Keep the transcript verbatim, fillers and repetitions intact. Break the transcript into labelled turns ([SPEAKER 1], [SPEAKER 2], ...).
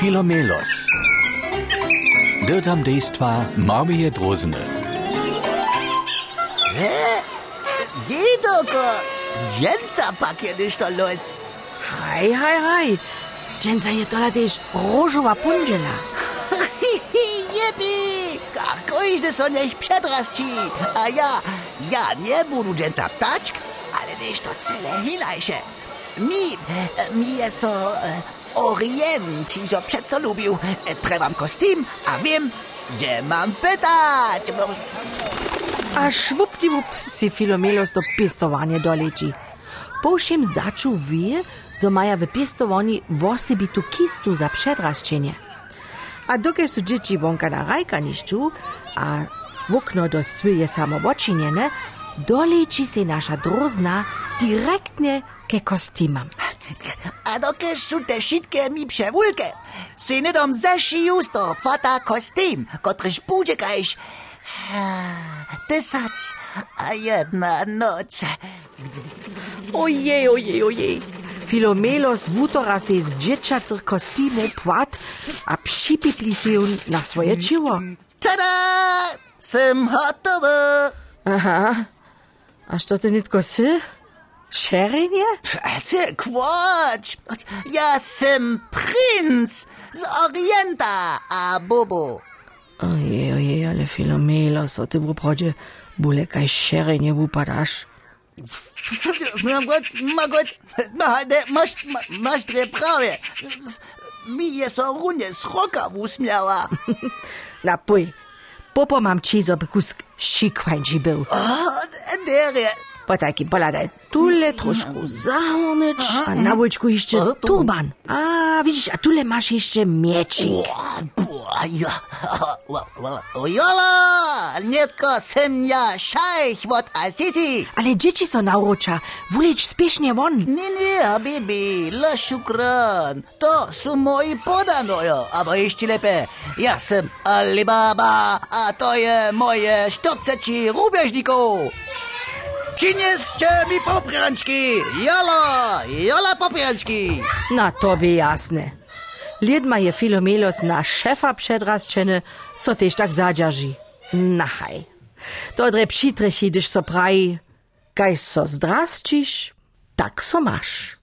[SPEAKER 1] Filomelos. Dyrtam dejstva Marmije Drozene.
[SPEAKER 2] Hä? Jedoko! Dżęca pak je ništo los.
[SPEAKER 3] Haj, haj, haj. Dżęca je tola też różowa pundzela.
[SPEAKER 2] Jepi! Kako iżdy so niech przedrasci. A ja, ja nie budu dżęca ptaczk, ale ništo cele hilajsze. Mi, mi je so e, orient, iżo przeco lubił. E, Trebam kostym, a wiem, gdzie mam pytać.
[SPEAKER 3] A švupdivup si Filomelos do pestovanja doleci. Po všem zdaču wie, zo maja v pestovanji vosebitu kistu za předrasčenje. A dokaj su džiči vonka na rajkanišću, a okno do stwy je samo očinjene, doleci se naša drozna direktne ke kostimam.
[SPEAKER 2] A dokaj su te šitke mi převulke, si nedom zašiju sto pfata kostym, kotryž bude kajš tysac a jedna noc.
[SPEAKER 3] Ojej, ojej, ojej. Filomelos wutora se z dzieciacych kostymów płat, a připitli se jun na swoje ciło.
[SPEAKER 2] Tada! Sem hotowy!
[SPEAKER 3] Aha. A što ty nitko sy? Šerinje?
[SPEAKER 2] Ty kłocz! Ja sem princ z Orienta, a Bobo.
[SPEAKER 3] Ojej, ojej, ale Filomelos, o ty w uprodzie bóle kaj šerinje upadaš.
[SPEAKER 2] Magot, magot, masz, masz dre prawie. Mi je so runie z roka usmiała.
[SPEAKER 3] Na puj, popo mam ci, zoby kusk šikvańči był.
[SPEAKER 2] O, derje.
[SPEAKER 3] Po takim poladaj tule troszkę zahornyć, a na wujczku jeszcze turban. A widzisz, a tule masz jeszcze miecik.
[SPEAKER 2] Ojola, nietko sem ja szajch wot Assisi.
[SPEAKER 3] Ale dzieci są naucza, wulecz spiesznie won.
[SPEAKER 2] Nie, nie, habibi, la szukran. To są moi podanojo, aber jeszcze lepiej. Ja sem Alibaba, a to je moje sztorceci rubieżników. Przynieście mi poprянčki, jala, jala poprянčki.
[SPEAKER 3] Na tobie jasne. Lid ma je Filomelos na szefa przedrasčene, so tež tak zadžaži. Nahaj. To dre přitrechi, když so praji, kaj so zdrasčiš, tak so maš.